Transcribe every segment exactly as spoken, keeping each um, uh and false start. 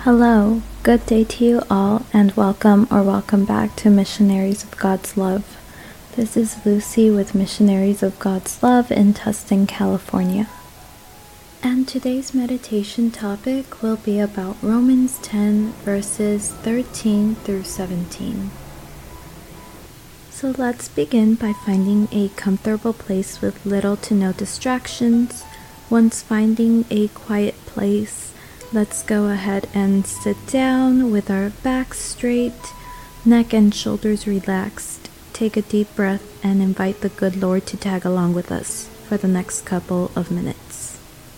Hello, good day to you all, and welcome or welcome back to Missionaries of God's Love. This is Lucy with Missionaries of God's Love in Tustin, California. And today's meditation topic will be about Romans ten, verses thirteen through seventeen. So let's begin by finding a comfortable place with little to no distractions. Once finding a quiet place, let's go ahead and sit down with our back straight, neck and shoulders relaxed. Take a deep breath and invite the good Lord to tag along with us for the next couple of minutes.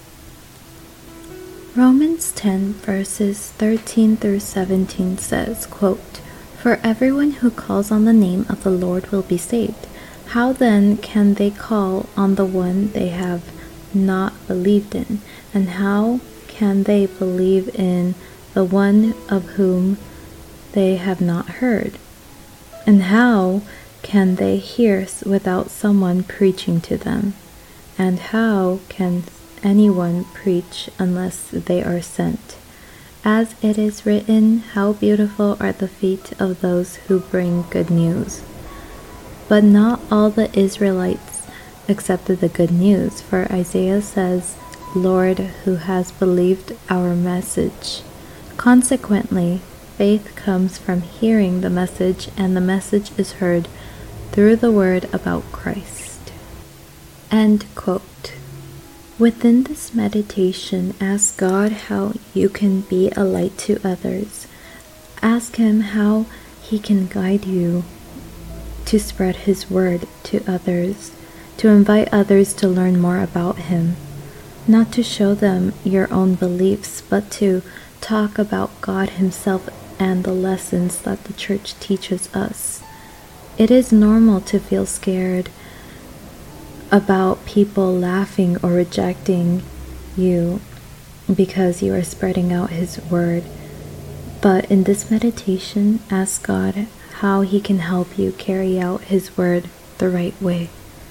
Romans ten verses thirteen through seventeen says, quote, "For everyone who calls on the name of the Lord will be saved. How then can they call on the one they have not believed in? And how can they believe in the one of whom they have not heard? And how can they hear without someone preaching to them? And how can anyone preach unless they are sent? As it is written, how beautiful are the feet of those who bring good news. But not all the Israelites accepted the good news, for Isaiah says, Lord, who has believed our message? Consequently, faith comes from hearing the message, and the message is heard through the word about Christ." End quote. Within this meditation, ask God how you can be a light to others. Ask Him how He can guide you to spread His word to others, to invite others to learn more about Him. Not to show them your own beliefs, but to talk about God Himself and the lessons that the church teaches us. It is normal to feel scared about people laughing or rejecting you because you are spreading out His word. But in this meditation, ask God how He can help you carry out His word the right way.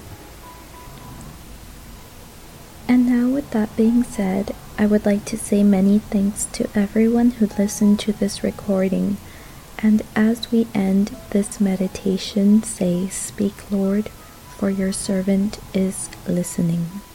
And now, with that being said, I would like to say many thanks to everyone who listened to this recording. And as we end this meditation, say, "Speak, Lord, for your servant is listening."